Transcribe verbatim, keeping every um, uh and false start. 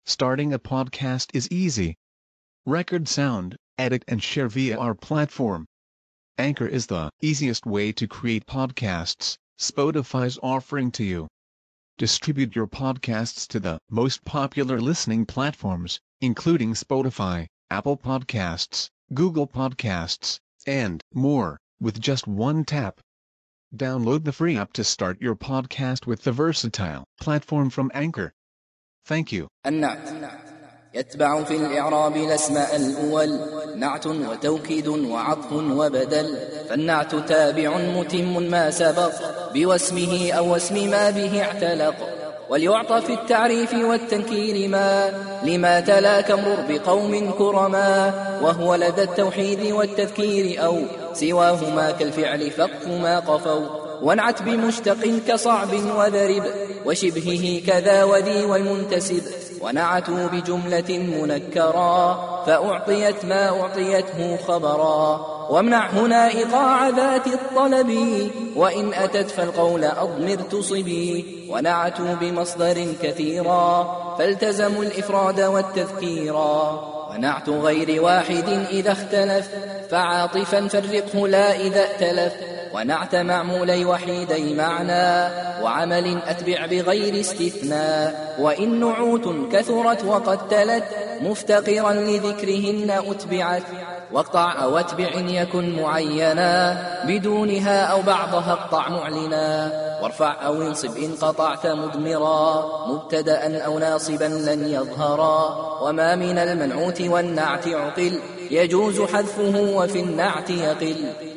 Starting a podcast is easy. Record sound, edit and share via our platform. Anchor is the easiest way to create podcasts Spotify's offering to you. Distribute your podcasts to the most popular listening platforms, including Spotify, Apple Podcasts, Google Podcasts, and more, with just one tap. Download the free app to start your podcast with the versatile platform from Anchor. Thank you. النعت يتبع في الإعراب الأسماء الأول نعت وتوكيد وعطف وبدل، فالنعت تابع متم ما سبق بواسمه أو اسم ما به اعتلق، وليعطى في التعريف والتنكير ما لما تلا كمرر بقوم كرما، وهو لدى التوحيد والتذكير أو سواهما كالفعل فق ما قفوا، وانعت بمشتق كصعب وذرب وشبهه كذا وذي والمنتسب، ونعتوا بجملة منكرا فأعطيت ما أعطيته خبرا، وامنع هنا إيقاع ذات الطلب وإن أتت فالقول أضمر تصبي، ونعتوا بمصدر كثيرا فالتزموا الإفراد والتذكيرا، ونعت غير واحد إذا اختلف فعاطفا فرقه لا إذا ائتلف، ونعت معمولي وحيدي معنى وعمل أتبع بغير استثناء، وإن نعوت كثرت وقد تلت مفتقرا لذكرهن أتبعت، واقطع أو اتبع إن يكن معينا بدونها أو بعضها اقطع معلنا، وارفع أو انصب إن قطعت مضمرا مبتدأ أو ناصبا لن يظهرا، وما من المنعوت والنعت عقل يجوز حذفه وفي النعت يقل.